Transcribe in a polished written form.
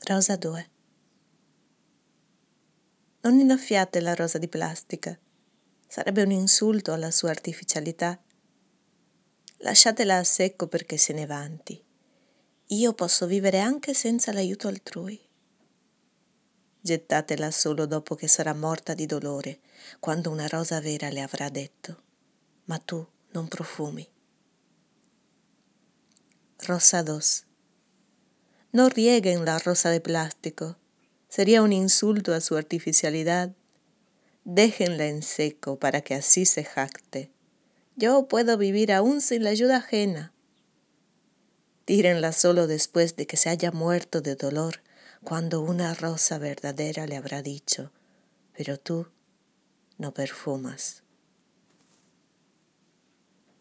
Rosa 2. Non innaffiate la rosa di plastica, sarebbe un insulto alla sua artificialità. Lasciatela a secco perché se ne vanti. Io posso vivere anche senza l'aiuto altrui. Gettatela solo dopo che sarà morta di dolore, quando una rosa vera le avrà detto: ma tu non profumi. Rosa 2. No rieguen la rosa de plástico, sería un insulto a su artificialidad. Déjenla en seco para que así se jacte. Yo puedo vivir aún sin la ayuda ajena. Tírenla solo después de que se haya muerto de dolor, cuando una rosa verdadera le habrá dicho: pero tú no perfumas.